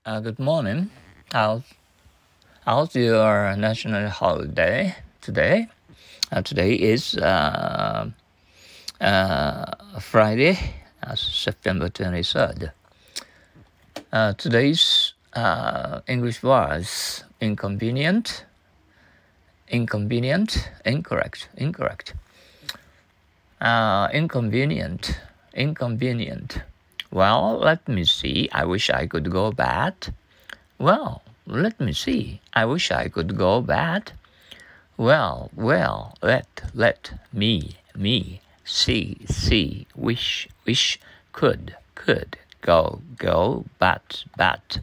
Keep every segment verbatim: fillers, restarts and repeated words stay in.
Uh, good morning. How's, how's your national holiday today? Uh, today is uh, uh, Friday, uh, September twenty-third. Uh, today's uh, English words inconvenient, inconvenient, incorrect, incorrect. Uh, inconvenient, inconvenient. Well, let me see. I wish I could go bad. Well, let me see. I wish I could go bad. Well, well, let, let, me, me, see, see, wish, wish, could, could, go, go, but, but.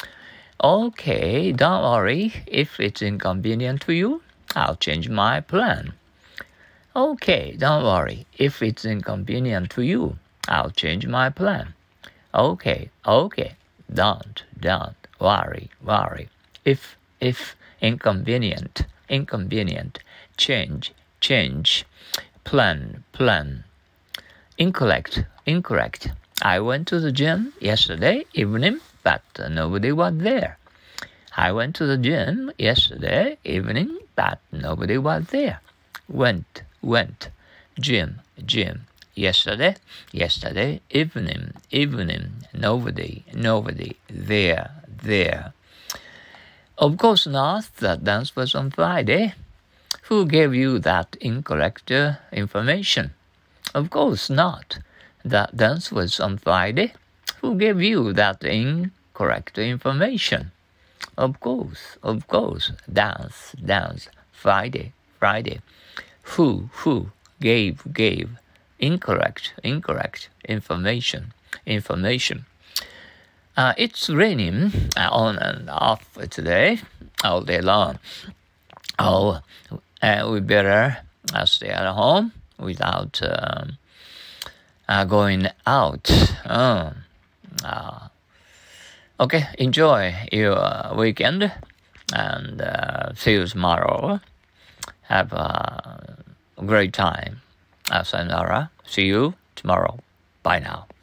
Okay, don't worry. If it's inconvenient to you, I'll change my plan. Okay, don't worry. If it's inconvenient to you, I'll change my plan. Okay, okay, don't, don't worry, worry. If, if inconvenient, inconvenient, change, change, plan, plan. Incorrect, incorrect. I went to the gym yesterday evening, but nobody was there. I went to the gym yesterday evening, but nobody was there. Went, went, gym, gym. Yesterday, yesterday, evening, evening, nobody, nobody, there, there. Of course not, the dance was on Friday. Who gave you that incorrect uh, information? Of course not. The dance was on Friday. Who gave you that incorrect information? Of course, of course, dance, dance, Friday, Friday. Who, who, gave, gave, incorrect, incorrect, information, information. Uh, it's raining uh, on and off today, all day long. Oh, uh, we better uh, stay at home without um, uh, going out. Oh, uh, okay, enjoy your weekend and uh, see you tomorrow. Have a great time. Uh, sayonara. See you tomorrow. Bye now.